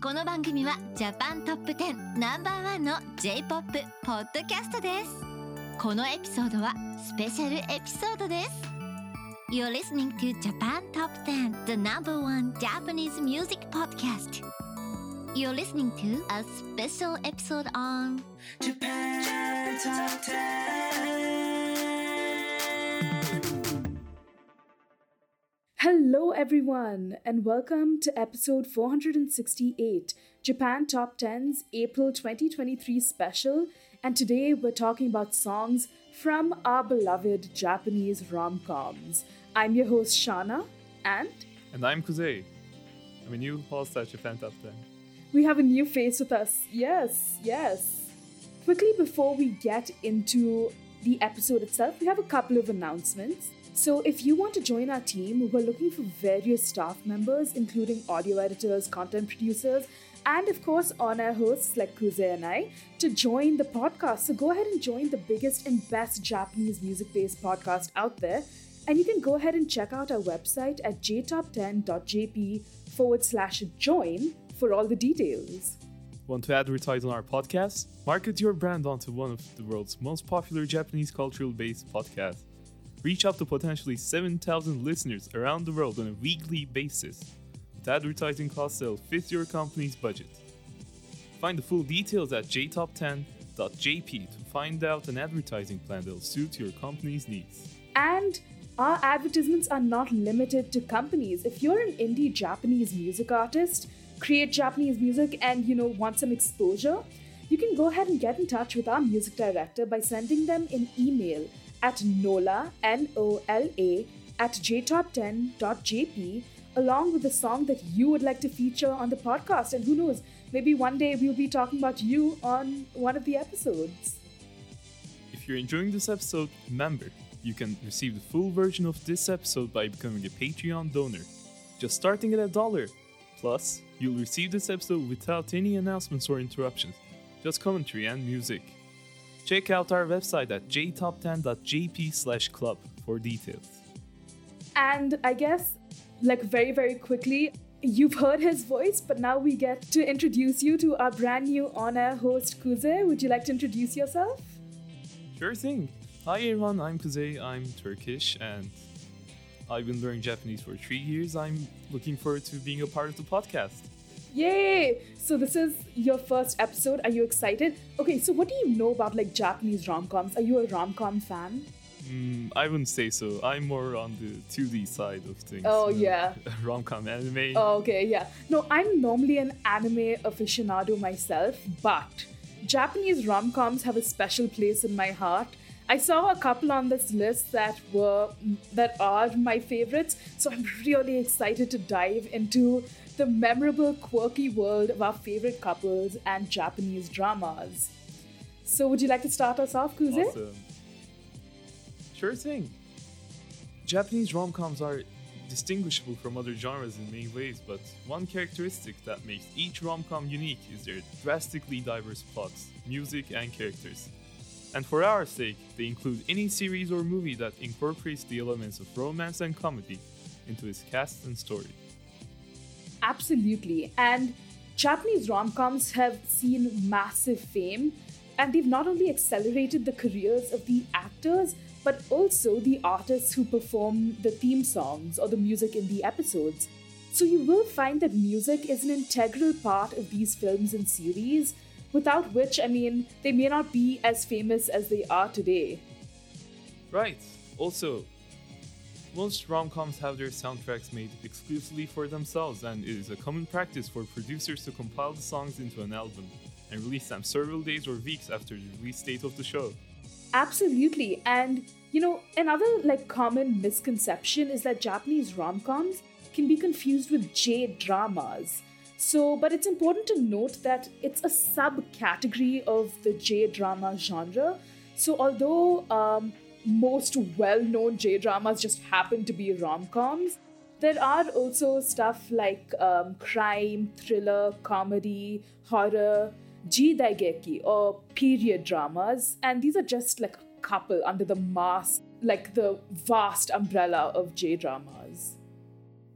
この番組はジャパントップ10ナンバーワンの J-POP ポッドキャストです。このエピソードはスペシャルエピソードです。You're listening to Japan Top 10, the number one Japanese music podcast. You're listening to a special episode on Japan Top 10. Hello, everyone, and welcome to episode 468, Japan Top 10's April 2023 special. And today we're talking about songs from our beloved Japanese rom-coms. I'm your host, Shana, and I'm Kuzei. I'm a new host at Japan Top 10. we have a new face with us. Yes. Quickly, before we get into the episode itself, we have a couple of announcements. So if you want to join our team, we're looking for various staff members, including audio editors, content producers, and of course on-air hosts like Kuzei and I, to join the podcast. So go ahead and join the biggest and best Japanese music-based podcast out there. And you can go ahead and check out our website at jtop10.jp/join for all the details. Want to advertise on our podcast? Market your brand onto one of the world's most popular Japanese cultural-based podcasts. Reach out to potentially 7,000 listeners around the world on a weekly basis, with advertising costs that'll fit your company's budget. Find the full details at jtop10.jp to find out an advertising plan that'll suit your company's needs. And our advertisements are not limited to companies. If you're an indie Japanese music artist, create Japanese music and, want some exposure, you can go ahead and get in touch with our music director by sending them an email at nola, N-O-L-A, at jtop10.jp, along with a song that you would like to feature on the podcast. And who knows, maybe one day we'll be talking about you on one of the episodes. If you're enjoying this episode, remember, you can receive the full version of this episode by becoming a Patreon donor, just starting at $1. Plus, you'll receive this episode without any announcements or interruptions, just commentary and music. Check out our website at jtop10.jp/club for details. And I guess, very, very quickly, you've heard his voice, but now we get to introduce you to our brand new on-air host, Kuzey. Would you like to introduce yourself? Sure thing. Hi everyone, I'm Kuzey, I'm Turkish, and I've been learning Japanese for 3 years. I'm looking forward to being a part of the podcast. Yay! So this is your first episode. Are you excited? Okay, so what do you know about Japanese rom-coms? Are you a rom-com fan? I wouldn't say so. I'm more on the 2D side of things. Oh, yeah. Rom-com anime. Oh, okay, yeah. No, I'm normally an anime aficionado myself, but Japanese rom-coms have a special place in my heart. I saw a couple on this list that are my favorites, so I'm really excited to dive into the memorable, quirky world of our favorite couples and Japanese dramas. So would you like to start us off, Kuzey? Awesome. Sure thing. Japanese rom-coms are distinguishable from other genres in many ways, but one characteristic that makes each rom-com unique is their drastically diverse plots, music, and characters. And for our sake, they include any series or movie that incorporates the elements of romance and comedy into its cast and story. Absolutely. And Japanese rom-coms have seen massive fame, and they've not only accelerated the careers of the actors, but also the artists who perform the theme songs or the music in the episodes. So you will find that music is an integral part of these films and series, without which, they may not be as famous as they are today. Right. Also, most rom-coms have their soundtracks made exclusively for themselves, and it is a common practice for producers to compile the songs into an album and release them several days or weeks after the release date of the show. Absolutely. And, another common misconception is that Japanese rom-coms can be confused with J-dramas. But it's important to note that it's a subcategory of the J-drama genre. So although most well-known J-dramas just happen to be rom-coms, there are also stuff like crime, thriller, comedy, horror, jidaigeki, or period dramas. And these are just a couple under the the vast umbrella of J-dramas.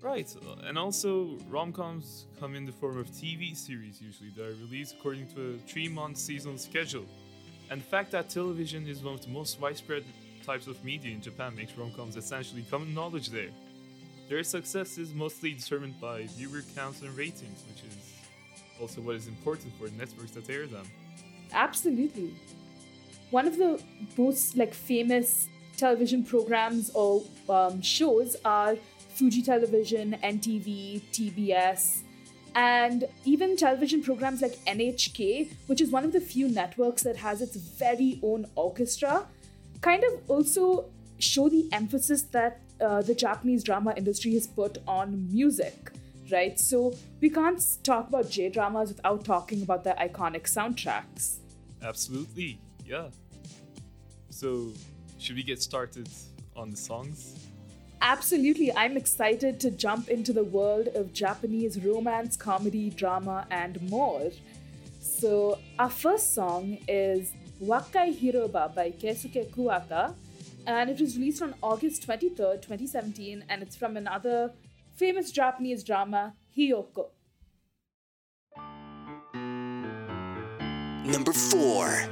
Right, and also rom-coms come in the form of TV series usually that are released according to a 3-month seasonal schedule. And the fact that television is one of the most widespread types of media in Japan makes rom-coms essentially common knowledge there. Their success is mostly determined by viewer counts and ratings, which is also what is important for networks that air them. Absolutely. One of the most famous television programs or shows are Fuji Television, NTV, TBS, and even television programs like NHK, which is one of the few networks that has its very own orchestra, kind of also show the emphasis that the Japanese drama industry has put on music, right? So we can't talk about J-dramas without talking about their iconic soundtracks. Absolutely, yeah. So, should we get started on the songs? Absolutely, I'm excited to jump into the world of Japanese romance, comedy, drama, and more. So, our first song is Wakai Hiroba by Keisuke Kuwata, and it was released on August 23rd, 2017, and it's from another famous Japanese drama, Hiyoko. Number 4.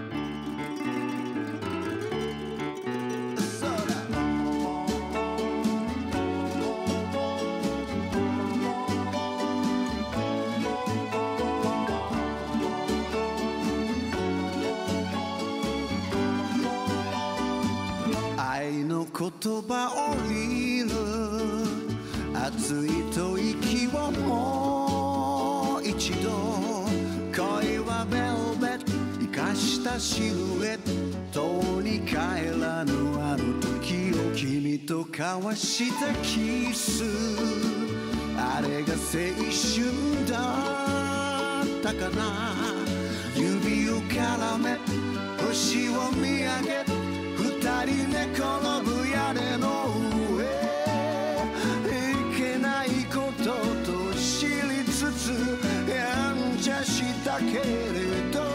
言葉降りる熱い吐息をもう一度恋はベルベット生かしたシルエットに帰らぬあの時を君と交わしたキスあれが青春だったかな指を絡め星を見上げ二人寝転ぶ屋根の上いけないことと知りつつやんちゃしたけれど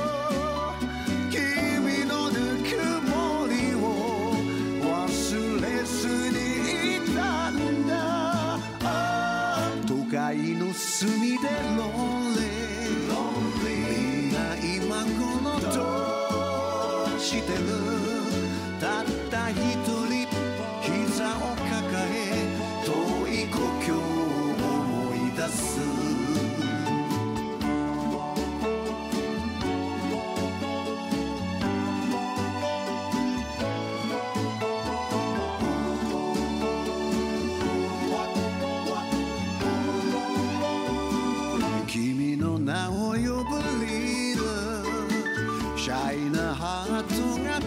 君のぬくもりを忘れずにいたんだ都会の隅でロンリーみんな今このどうしてるたった一人膝を抱え遠い故郷を思い出す君の名を呼ぶリーダーシャイなハートが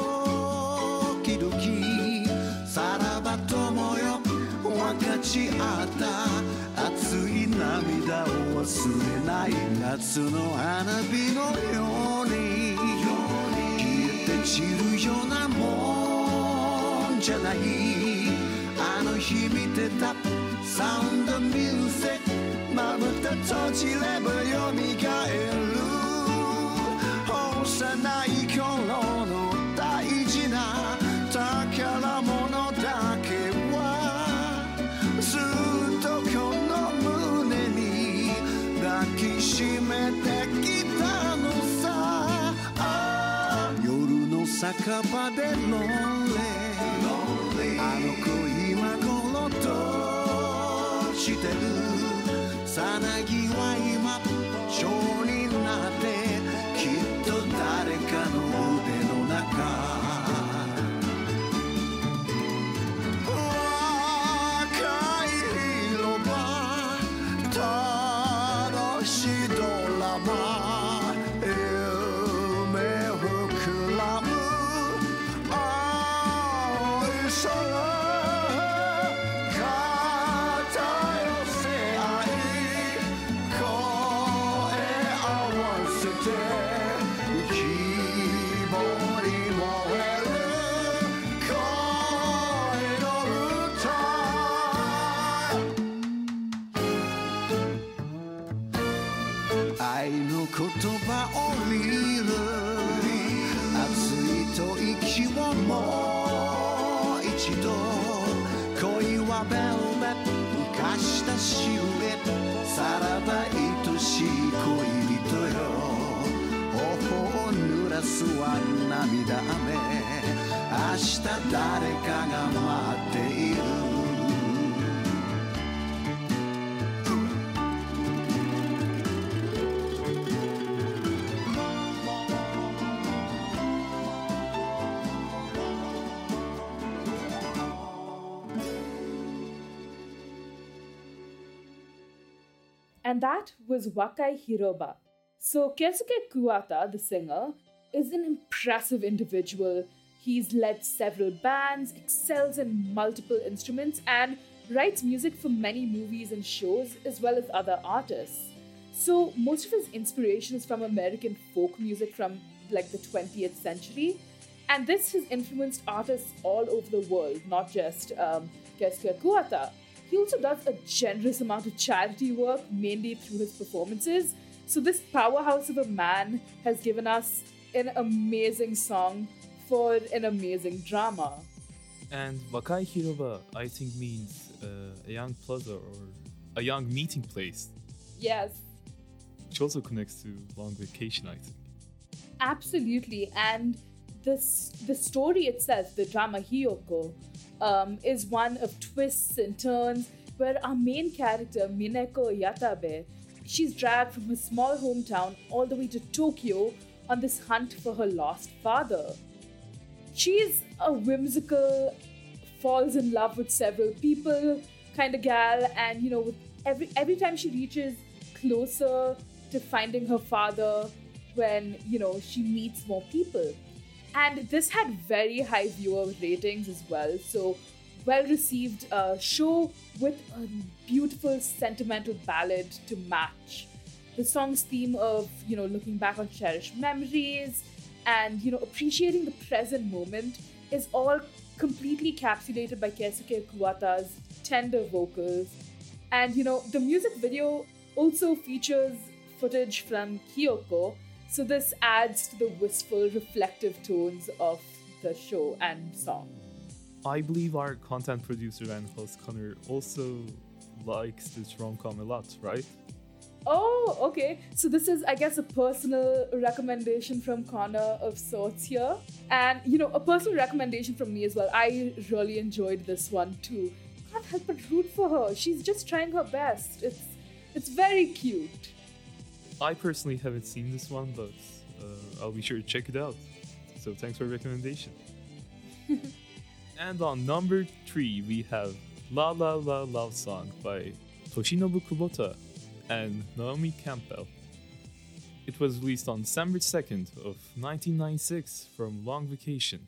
さらば友よ分かち合った熱い涙を忘れない夏の花火のように消えて散るようなもんじゃないあの日見てたサウンドミュージックまぶた閉じればよみがえる幼い頃の大事な宝物だけはずっとこの胸に抱きしめてきたのさ夜の酒場でロンリーあの子今頃どうしてるさなぎは今蝶になってきっと誰かの腕の中言葉降りる熱い吐息をもう一度恋はベルベット生かしゆえさらば愛しい恋人よ頬を濡らすは涙雨明日誰かが待っている And that was Wakai Hiroba. So Keisuke Kuwata, the singer, is an impressive individual. He's led several bands, excels in multiple instruments, and writes music for many movies and shows, as well as other artists. So most of his inspiration is from American folk music from like the 20th century. And this has influenced artists all over the world, not just Keisuke Kuwata. He also does a generous amount of charity work, mainly through his performances. So this powerhouse of a man has given us an amazing song for an amazing drama. And Wakai Hiroba, I think, means a young plaza or a young meeting place. Yes, Which also connects to long vacation, I think. absolutely. And the story itself, the drama Hiyoko, is one of twists and turns where our main character, Mineko Yatabe, she's dragged from her small hometown all the way to Tokyo on this hunt for her lost father. She's a whimsical, falls in love with several people kind of gal, and with every time she reaches closer to finding her father, when she meets more people. And this had very high viewer ratings as well, so well received show with a beautiful sentimental ballad to match. The song's theme of looking back on cherished memories and appreciating the present moment is all completely encapsulated by Keisuke Kuwata's tender vocals. And the music video also features footage from Hiyoko, so this adds to the wistful, reflective tones of the show and song. I believe our content producer and host Connor also likes this rom-com a lot, right? Oh, okay. So this is, I guess, a personal recommendation from Connor of sorts here. And, a personal recommendation from me as well. I really enjoyed this one too. Can't help but root for her. She's just trying her best. It's very cute. I personally haven't seen this one, but I'll be sure to check it out. So thanks for the recommendation. And on number 3, we have La La La Love Song by Toshinobu Kubota and Naomi Campbell. It was released on December 2nd of 1996 from Long Vacation.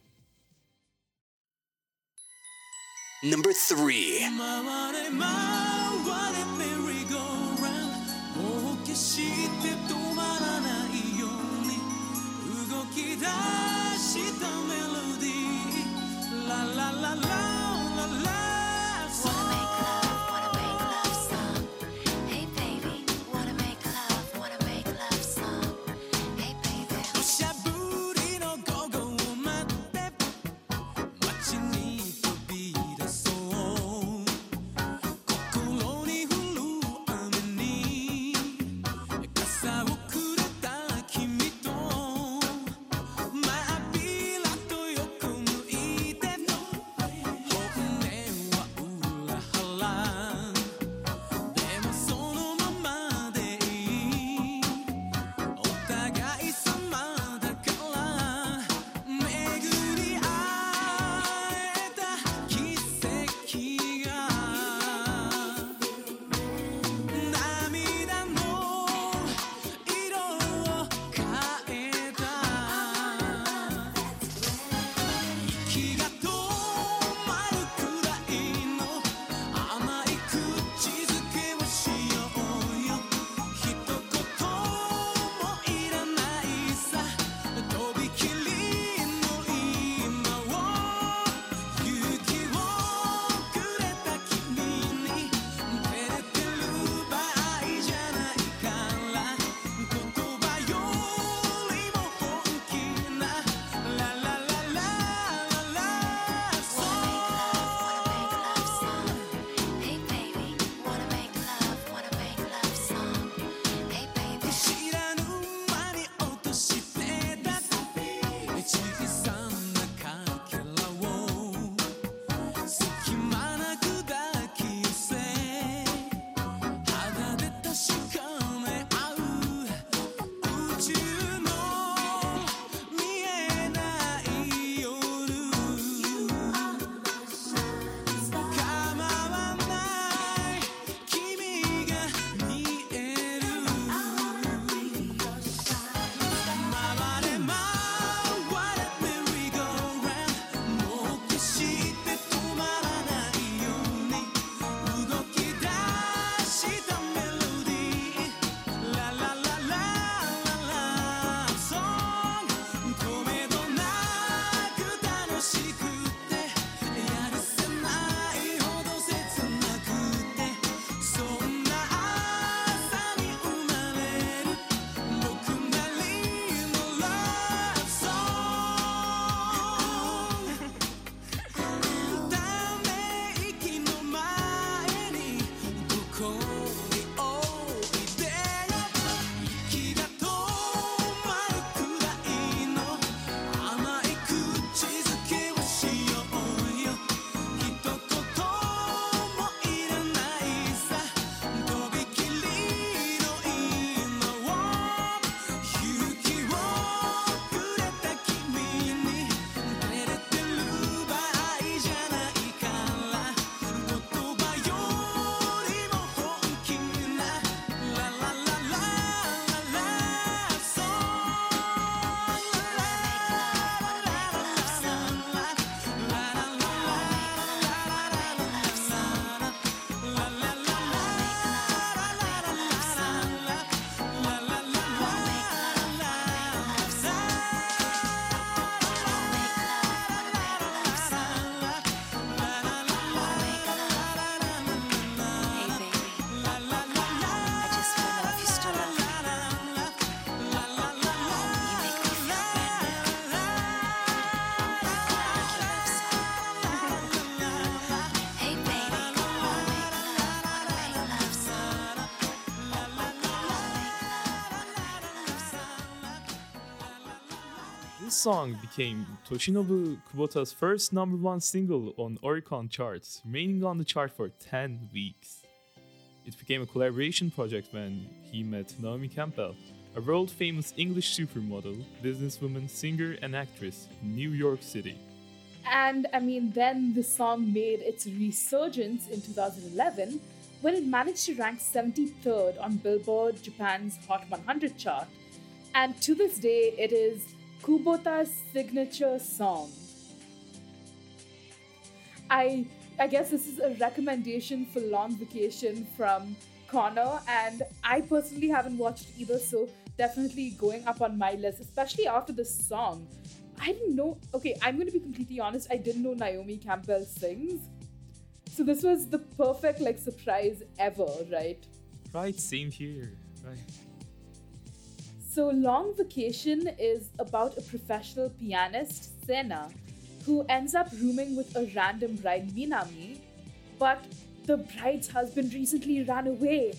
Number 3. 回れ回れメリーゴーラウンドもう決して止まらないように動き出したメロディーララララララ Wanna make love song. Hey baby, wanna make love song. Hey baby. 土砂降りの午後を待って街に飛び出そう心に降る雨に song became Toshinobu Kubota's first #1 single on Oricon charts, remaining on the chart for 10 weeks. It became a collaboration project when he met Naomi Campbell, a world-famous English supermodel, businesswoman, singer, and actress in New York City. And I mean, then the song made its resurgence in 2011 when it managed to rank 73rd on Billboard Japan's Hot 100 chart. And to this day, it is Kubota's signature song. I guess this is a recommendation for Long Vacation from Connor, and I personally haven't watched either, so definitely going up on my list, especially after this song. I didn't know, okay, I'm going to be completely honest, I didn't know Naomi Campbell sings. So this was the perfect surprise ever, right? Right, same here. Right. So Long Vacation is about a professional pianist, Sena, who ends up rooming with a random bride, Minami, but the bride's husband recently ran away.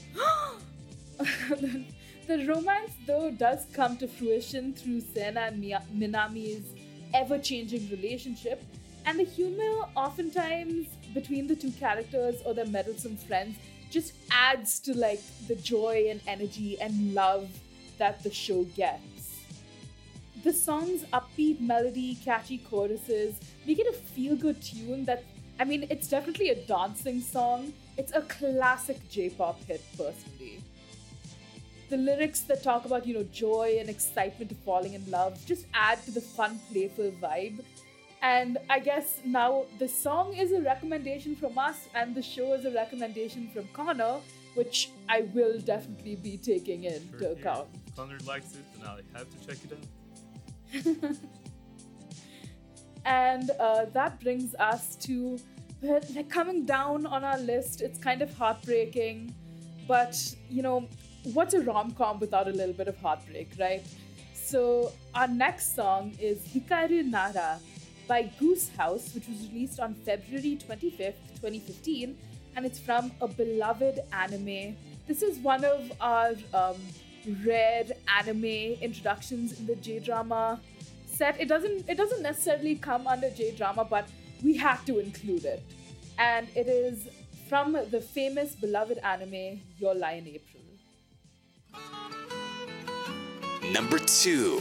The romance, though, does come to fruition through Sena and Minami's ever-changing relationship, and the humor oftentimes between the two characters or their meddlesome friends just adds to the joy and energy and love that the show gets. The song's upbeat melody, catchy choruses make it a feel-good tune that, I mean, it's definitely a dancing song. It's a classic J-pop hit, personally. The lyrics that talk about, joy and excitement of falling in love just add to the fun, playful vibe. And I guess now the song is a recommendation from us and the show is a recommendation from Connor, which I will definitely be taking into account. If Connor likes it, then I have to check it out. And that brings us to coming down on our list. It's kind of heartbreaking, but what's a rom-com without a little bit of heartbreak, right? So our next song is Hikaru Nara by Goose House, which was released on February 25th, 2015, and it's from a beloved anime. This is one of our rare anime introductions in the J-drama set. It doesn't necessarily come under J-drama, but we had to include it. And it is from the famous beloved anime Your Lie in April. Number 2.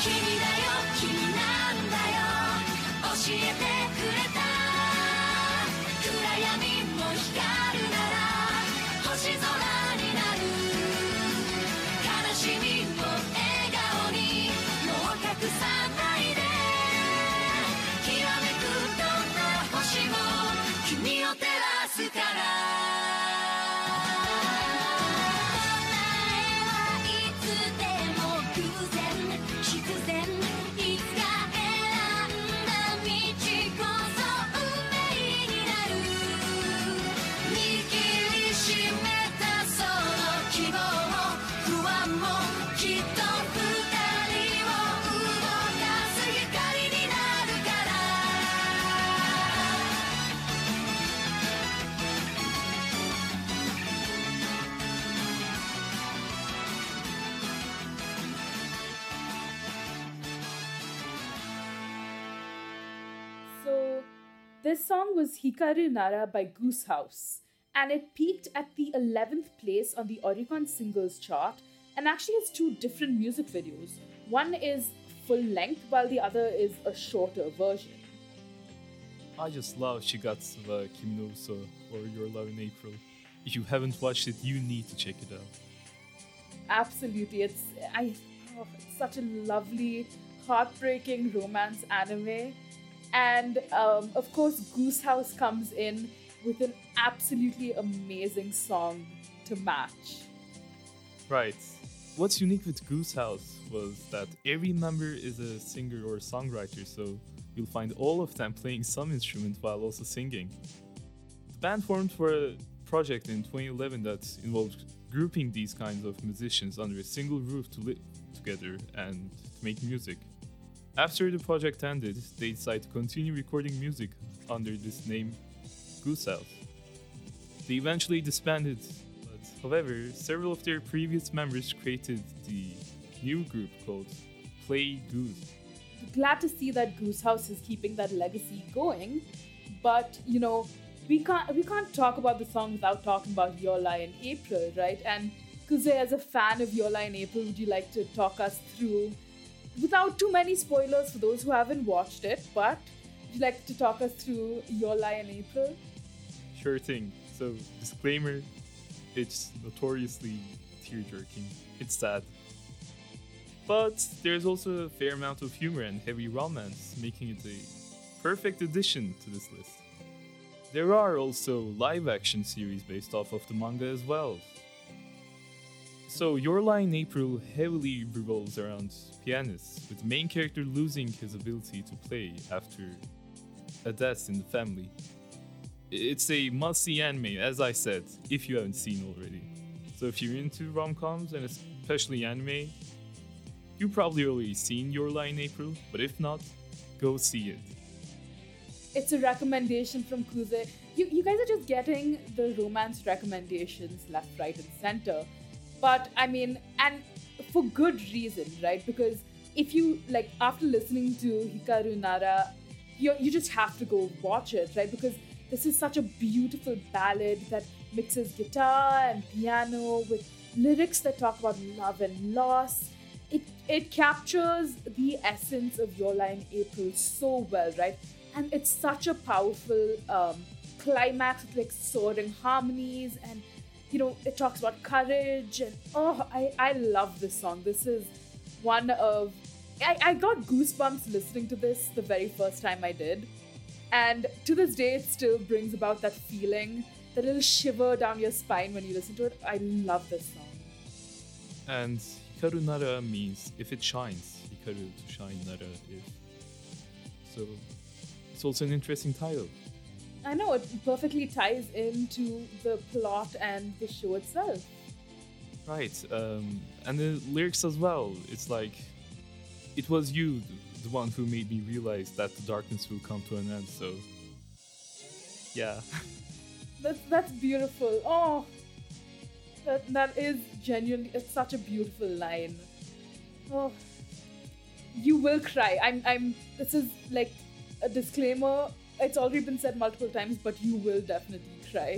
君だよ君なんだよ教えてくれた暗闇も光るなら星空になる悲しみを笑顔にもう隠さないできらめくどんな星も君を照らすから答えはいつでも偶然必然いつか選んだ道こそ運命になる握りしめたその希望不安もきっと二人を動かす光になるから So, this song was Hikaru Nara by Goose House, and it peaked at the 11th place on the Oricon Singles chart and actually has two different music videos. One is full length, while the other is a shorter version. I just love Shigatsu wa Kimi no Uso or Your Love in April. If you haven't watched it, you need to check it out. Absolutely, it's such a lovely, heartbreaking romance anime, and of course, Goose House comes in with an absolutely amazing song to match. Right. What's unique with Goose House was that every member is a singer or songwriter, so you'll find all of them playing some instrument while also singing. The band formed for a project in 2011 that involved grouping these kinds of musicians under a single roof to live together and to make music. After the project ended, they decided to continue recording music under this name, Goose House. They eventually disbanded, but however, several of their previous members created the new group called Play Goose. Glad to see that Goose House is keeping that legacy going, but you know, we can't talk about the song without talking about Your Lie in April, right? And Kuze, as a fan of Your Lie in April, would you like to talk us through, without too many spoilers for those who haven't watched it, but would you like to talk us through Your Lie in April? Sure thing. So, disclaimer, it's notoriously tear-jerking. It's sad. But there's also a fair amount of humor and heavy romance, making it a perfect addition to this list. There are also live-action series based off of the manga as well. So, Your Lie in April heavily revolves around pianists, with the main character losing his ability to play after a death in the family. It's a must-see anime, as I said, if you haven't seen already. So if you're into rom-coms, and especially anime, you've probably already seen Your Lie in April, but if not, go see it. It's a recommendation from Kuze. You guys are just getting the romance recommendations left, right, and center. But I mean, and for good reason, right? Because if you, like, after listening to Hikaru Nara, you just have to go watch it, right? Because this is such a beautiful ballad that mixes guitar and piano with lyrics that talk about love and loss. It captures the essence of Your Lie in April so well, right? And it's such a powerful climax with like soaring harmonies, and you know, it talks about courage, and I love this song. This is one of I got goosebumps listening to this the very first time I did. And to this day, it still brings about that feeling, that little shiver down your spine when you listen to it. I love this song. And Hikaru Nara means if it shines. Hikaru to shine, Nara if. So it's also an interesting title. I know, it perfectly ties into the plot and the show itself. Right, and the lyrics as well. It's like, it was you, the one who made me realize that the darkness will come to an end, so yeah. That's beautiful. Oh, that is genuinely, it's such a beautiful line. Oh, you will cry. This is like a disclaimer. It's already been said multiple times, but you will definitely cry.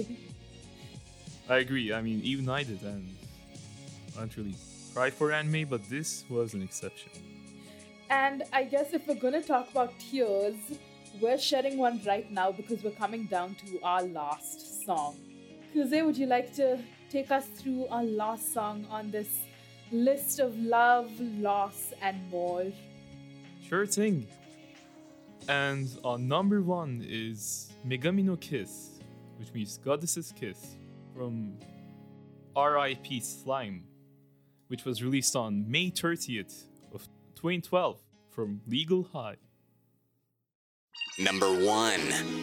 I agree. I mean, even I did, and I don't really cry for anime, but this was an exception. And I guess if we're gonna talk about tears, we're shedding one right now because we're coming down to our last song. Kuze, would you like to take us through our last song on this list of love, loss, and more? Sure thing. And on number 1 is Megami no Kiss, which means Goddess's Kiss, from R.I.P. Slime, which was released on May 30th of 2012 from Legal High. Number 1.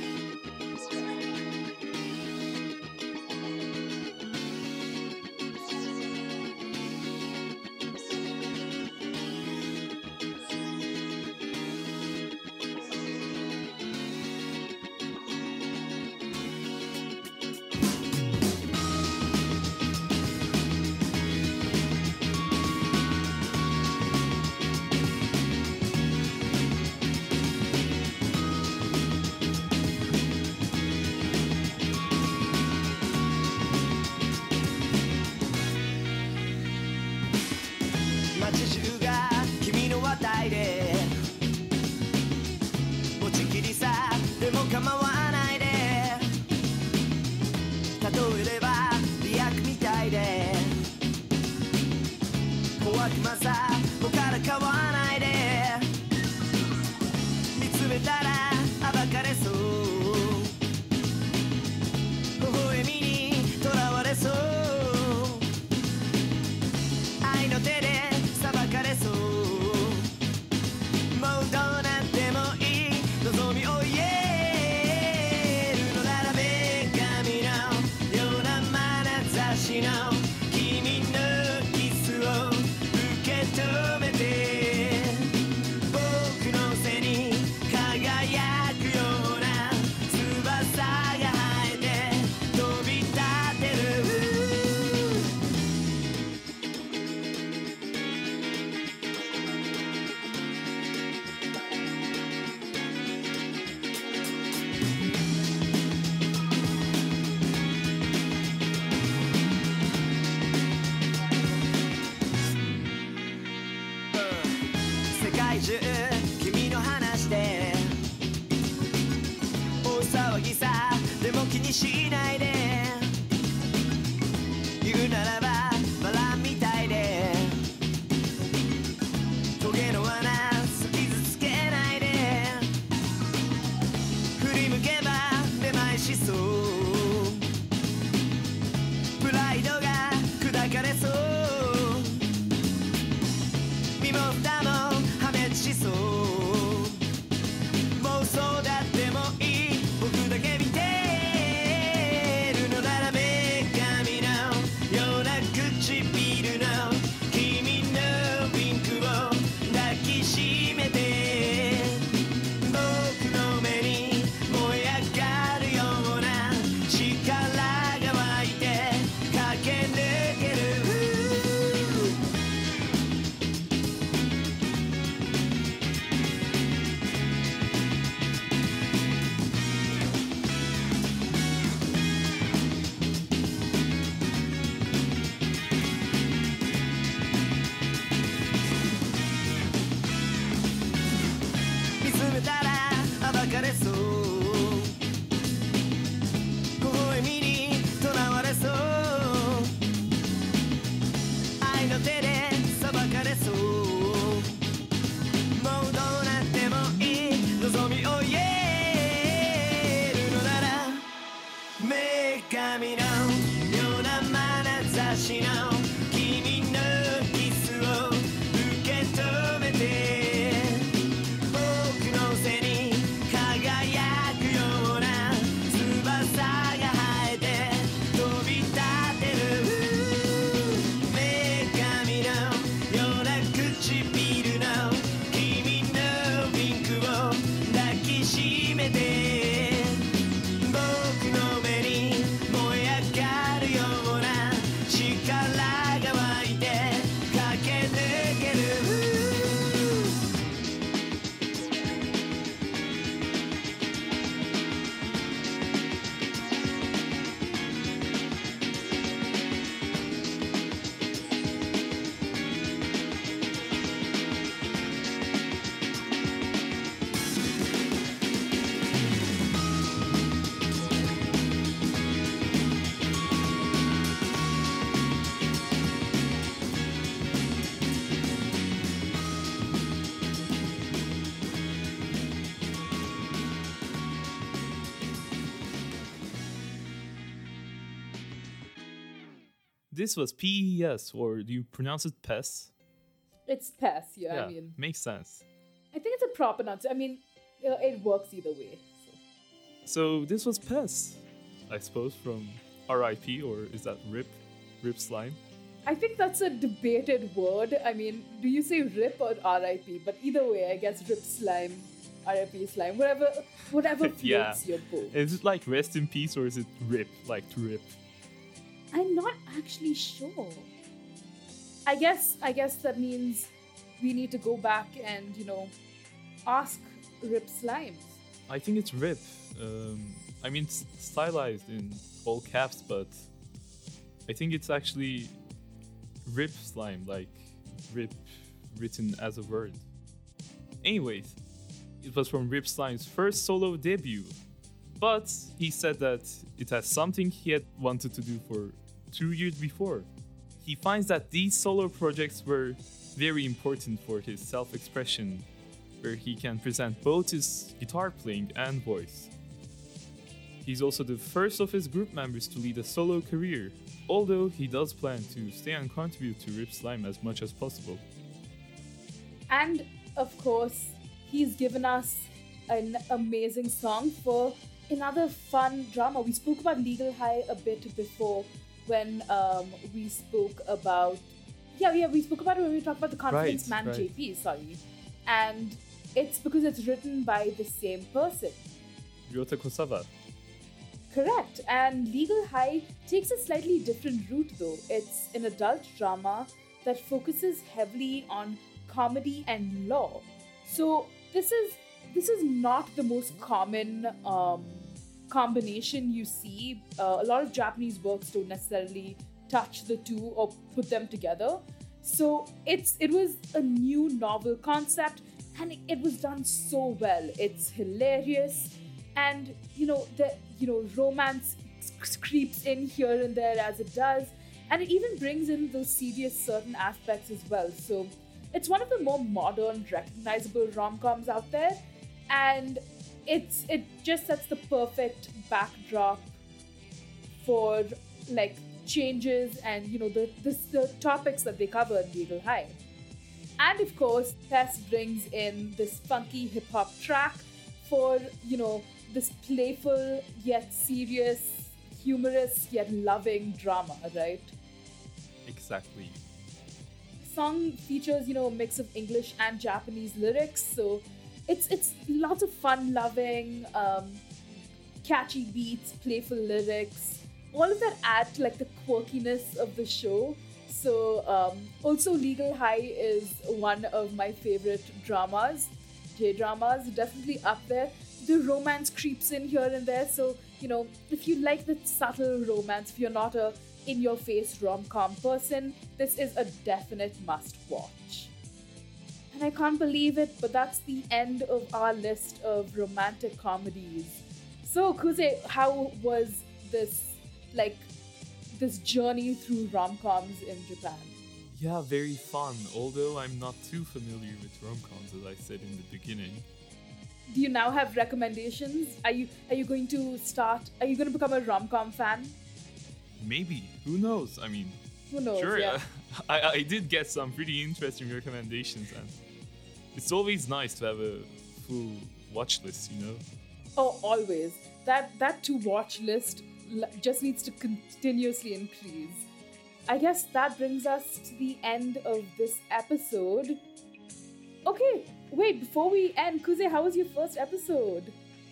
街中が君の話題で持ちきりさでも構わないで例えれば美薬みたいで怖くまさもからかわないで見つめたら暴かれそう微笑みにとらわれそう愛の手で裁かれそうもうどうなってもいい望みを言えるのなら女神のような眼差しの君のキスを受け止めて僕の背に輝くような翼が生えて飛び立てる世界中君の話で大騒ぎさでも気にしないで言うならばバラみたいでトゲの穴傷つけないで振り向けばめまいしそうプライドが砕かれそう身も蓋も破滅しそう妄想だってもいい僕だけ見てるのなら女神のような唇の君のピンクを抱きしめて僕の目に燃え上がるような力が湧いて駆け抜ける This was PES, or do you pronounce it PES? It's PES, yeah. I mean, makes sense. I think it's a proper pronunciation. I mean, it works either way. So this was PES, I suppose, from RIP, or is that RIP? RIP Slime? I think that's a debated word. I mean, do you say RIP or RIP? But either way, I guess RIP Slime, RIP Slime, whatever floats your boat. Is it like rest in peace, or is it RIP, like to rip? I'm not actually sure. I guess that means we need to go back and, ask RIP Slimes. I think it's RIP. I mean, it's stylized in all caps, but I think it's actually RIP Slime, like RIP written as a word. Anyways, it was from RIP Slime's first solo debut, but he said that it has something he had wanted to do for 2 years before. He finds that these solo projects were very important for his self-expression, where he can present both his guitar playing and voice. He's also the first of his group members to lead a solo career, although he does plan to stay and contribute to RIP Slime as much as possible. And, of course, he's given us an amazing song for another fun drama. We spoke about Legal High a bit before when we spoke about... we spoke about it when we talked about the Confidence Man JP, sorry. And it's because it's written by the same person. Ryota Kosawa. Correct. And Legal High takes a slightly different route though. It's an adult drama that focuses heavily on comedy and law. So this is not the most common combination you see. A lot of Japanese works don't necessarily touch the two or put them together. So it was a new novel concept, and it was done so well. It's hilarious, and romance creeps in here and there as it does, and it even brings in those serious certain aspects as well. So it's one of the more modern, recognizable rom-coms out there, and it just sets the perfect backdrop for like changes and the topics that they cover in Legal High. And of course, Tess brings in this funky hip-hop track for this playful yet serious, humorous yet loving drama, right? Exactly. The song features a mix of English and Japanese lyrics, so it's lots of fun-loving, catchy beats, playful lyrics. All of that add to like the quirkiness of the show. So also Legal High is one of my favorite dramas, J-dramas, definitely up there. The romance creeps in here and there, so if you like the subtle romance, if you're not a in-your-face rom-com person, this is a definite must-watch. And I can't believe it, but that's the end of our list of romantic comedies. So Kuze, how was this journey through rom-coms in Japan? Yeah, very fun, although I'm not too familiar with rom-coms, as I said in the beginning. Do you now have recommendations? Are you going to become a rom-com fan? Maybe. Who knows? I mean, who knows? Sure, yeah. I did get some pretty interesting recommendations, and it's always nice to have a full watch list, Oh, always. That to-watch list just needs to continuously increase. I guess that brings us to the end of this episode. Okay, wait, before we end, Kuze, how was your first episode?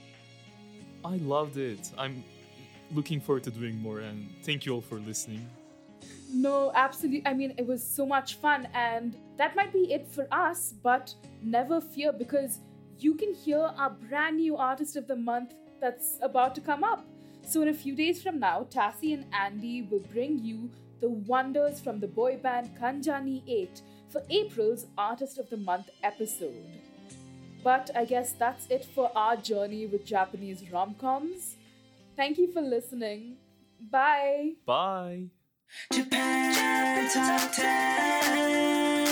I loved it. I'm looking forward to doing more, and thank you all for listening. No, absolutely. I mean, it was so much fun, and that might be it for us, but never fear, because you can hear our brand new Artist of the Month that's about to come up. So in a few days from now, Tassie and Andy will bring you the wonders from the boy band Kanjani 8 for April's Artist of the Month episode. But I guess that's it for our journey with Japanese rom-coms. Thank you for listening. Bye. Bye. Japan Top 10.